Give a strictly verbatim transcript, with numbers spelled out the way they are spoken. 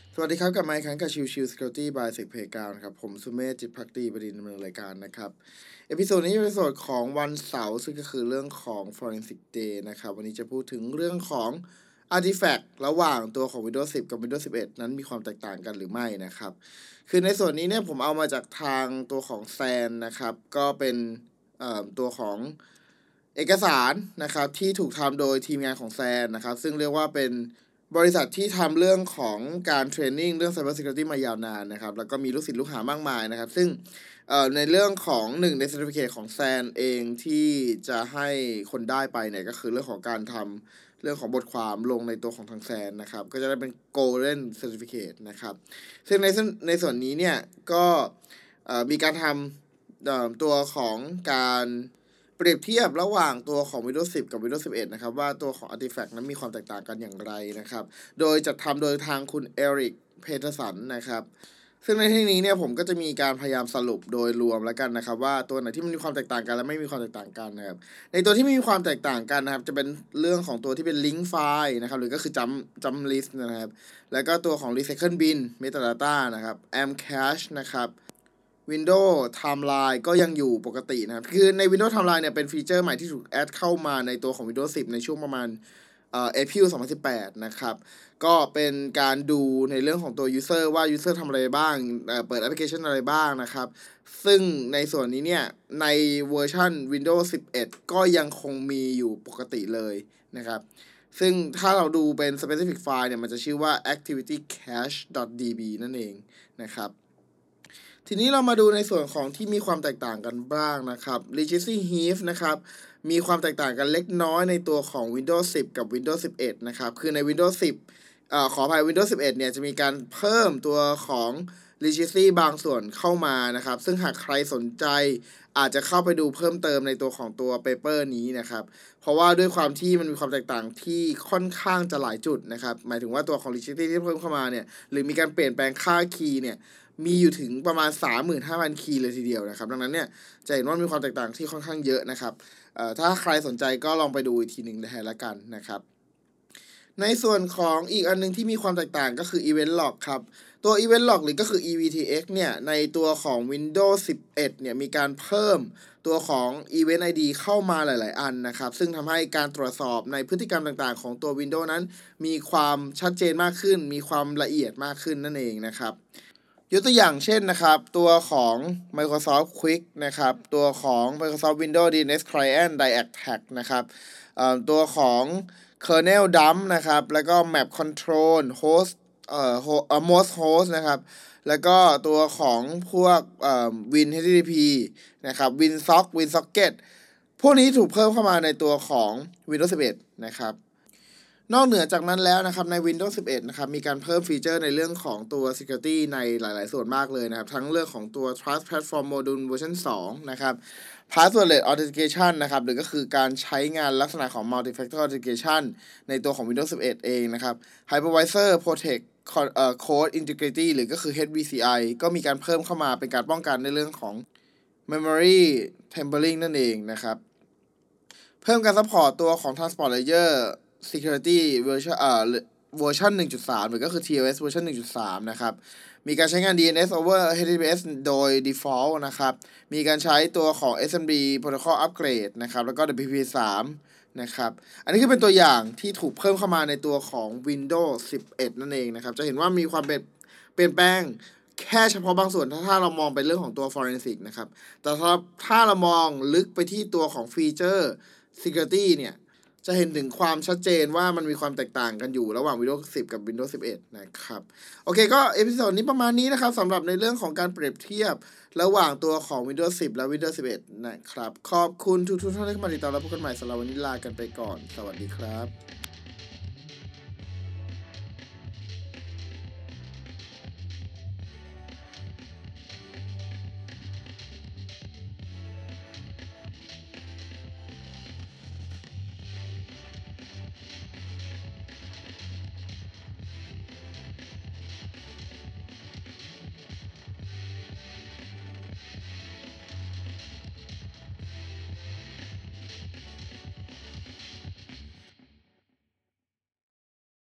สวัสดีครับกลับมาอีกครั้งกับชิวชิว Security by Sec Playground ครับผมสุเมธจิตภักดีประดินดำเนินรายการนะครับเอพิโซดนี้เป็นเอพิโซดของวันเสาร์ซึ่งก็คือเรื่องของ Forensic Day นะครับวันนี้จะพูดถึงเรื่องของ Artifact ระหว่างตัวของ Windows สิบ กับ Windows สิบเอ็ด นั้นมีความแตกต่างกันหรือไม่นะครับคือในส่วนนี้เนี่ยผมเอามาจากทางตัวของ แซน นะครับก็เป็นตัวของเอกสารนะครับที่ถูกทำโดยทีมงานของ แซน นะครับซึ่งเรียกว่าเป็นบริษัทที่ทำเรื่องของการเทรนนิ่งเรื่อง Cyber Security มายาวนานนะครับแล้วก็มีลูกศิษย์ลูกหามากมายนะครับซึ่งในเรื่องของหนึ่งใน Certificate ของ แซน เองที่จะให้คนได้ไปเนี่ยก็คือเรื่องของการทำเรื่องของบทความลงในตัวของทาง แซน นะครับก็จะได้เป็น Golden Certificate นะครับซึ่งในในส่วนนี้เนี่ยก็มีการทำตัวของการเปรียบเทียบระหว่างตัวของ Windows สิบ กับ Windows สิบเอ็ด นะครับว่าตัวของ Artifact นั้นมีความแตกต่างกันอย่างไรนะครับโดยจัดทำโดยทางคุณเอริกเพเทอร์สันนะครับซึ่งในที่นี้เนี่ยผมก็จะมีการพยายามสรุปโดยรวมแล้วกันนะครับว่าตัวไหนที่มันมีความแตกต่างกันและไม่มีความแตกต่างกันนะครับในตัวที่ไม่มีความแตกต่างกันนะครับจะเป็นเรื่องของตัวที่เป็น link file นะครับหรือก็คือ jump jump list นะครับแล้วก็ตัวของ recycle bin metadata นะครับ amcache นะครับWindows Timeline ก็ยังอยู่ปกตินะครับคือใน Windows Timeline เนี่ยเป็นฟีเจอร์ใหม่ที่ถูกแอดเข้ามาในตัวของ Windows สิบ ในช่วงประมาณเอ่อ April สองพันสิบแปดนะครับก็เป็นการดูในเรื่องของตัว User ว่า User ทำอะไรบ้างเอ่อเปิดแอปพลิเคชันอะไรบ้างนะครับซึ่งในส่วนนี้เนี่ยในเวอร์ชัน Windows สิบเอ็ด ก็ยังคงมีอยู่ปกติเลยนะครับซึ่งถ้าเราดูเป็น specific file เนี่ยมันจะชื่อว่า activitycache.db นั่นเองนะครับทีนี้เรามาดูในส่วนของที่มีความแตกต่างกันบ้างนะครับ Regency Heap นะครับมีความแตกต่างกันเล็กน้อยในตัวของ Windows สิบ กับ Windows สิบเอ็ด นะครับคือใน Windows สิบเอ่อขออภัย Windows สิบเอ็ด เนี่ยจะมีการเพิ่มตัวของ Regency บางส่วนเข้ามานะครับซึ่งหากใครสนใจอาจจะเข้าไปดูเพิ่มเติมในตัวของตัวเปเปอร์นี้นะครับเพราะว่าด้วยความที่มันมีความแตกต่างที่ค่อนข้างจะหลายจุดนะครับหมายถึงว่าตัวของ Regency ที่เพิ่มเข้ามาเนี่ยหรือมีการเปลี่ยนแปลงค่าคีย์เนี่ยมีอยู่ถึงประมาณ สามหมื่นห้าพัน คีย์เลยทีเดียวนะครับดังนั้นเนี่ยจะเห็นว่ามีความแตกต่างที่ค่อนข้างเยอะนะครับเอ่อถ้าใครสนใจก็ลองไปดูอีกทีหนึ่งแทนละกันนะครับในส่วนของอีกอันนึงที่มีความแตกต่างก็คือ Event Log ครับตัว Event Log หรือก็คือ อี วี ที เอ็กซ์ เนี่ยในตัวของ Windows สิบเอ็ด เนี่ยมีการเพิ่มตัวของ Event ไอ ดี เข้ามาหลายๆอันนะครับซึ่งทำให้การตรวจสอบในพฤติกรรมต่างๆของตัว Windows นั้นมีความชัดเจนมากขึ้นมีความละเอียดมากขึ้นนั่นเองนะครับยกตัวอย่างเช่นนะครับตัวของ Microsoft Quick นะครับตัวของ Microsoft Windows ดี เอ็น เอส Client Direct Attack นะครับตัวของ Kernel Dump นะครับแล้วก็ Map Control Host เอ่อ Most Host นะครับแล้วก็ตัวของพวกเอ่อ Win เอช ที ที พี นะครับ WinSock WinSocket พวกนี้ถูกเพิ่มเข้ามาในตัวของ Windows สิบเอ็ด นะครับนอกเหนือจากนั้นแล้วนะครับใน Windows สิบเอ็ด นะครับมีการเพิ่มฟีเจอร์ในเรื่องของตัว Security ในหลายๆส่วนมากเลยนะครับทั้งเรื่องของตัว Trust Platform Module เวอร์ชันสองนะครับ Passwordless Authentication นะครับหรือก็คือการใช้งานลักษณะของ Multi-Factor Authentication ในตัวของ Windows สิบเอ็ด เองนะครับ Hypervisor Protect Code Integrity หรือก็คือ เอช วี ซี ไอ ก็มีการเพิ่มเข้ามาเป็นการป้องกันในเรื่องของ Memory Tampering นั่นเองนะครับเพิ่มการซัพพอร์ตตัวของ Transport Layer Security เวอร์ชันเอ่อเวอร์ชัน หนึ่งจุดสาม หรือก็คือ ที โอ เอส เวอร์ชัน หนึ่งจุดสาม นะครับมีการใช้งาน ดี เอ็น เอส over เอช ที ที พี เอส โดย default นะครับมีการใช้ตัวของ เอส เอ็ม ดี Protocol Upgrade นะครับแล้วก็ ดับเบิลยู พี พี สาม นะครับอันนี้คือเป็นตัวอย่างที่ถูกเพิ่มเข้ามาในตัวของ Windows สิบเอ็ด นั่นเองนะครับจะเห็นว่ามีความเปลี่ยนแปลงแค่เฉพาะบางส่วนถ้าถ้าเรามองไปเรื่องของตัว Forensic นะครับแต่ถ้าถ้าเรามองลึกไปที่ตัวของฟีเจอร์ Security เนี่ยจะเห็นถึงความชัดเจนว่ามันมีความแตกต่างกันอยู่ระหว่าง Windows สิบ กับ Windows สิบเอ็ด นะครับโอเคก็เอพิโซดนี้ประมาณนี้นะครับสำหรับในเรื่องของการเปรียบเทียบระหว่างตัวของ Windows สิบ และ Windows สิบเอ็ด นะครับขอบคุณทุกๆท่านที่เข้ามาติดตามและพบกันใหม่สำหรับวันนี้ลากันไปก่อนสวัสดีครับ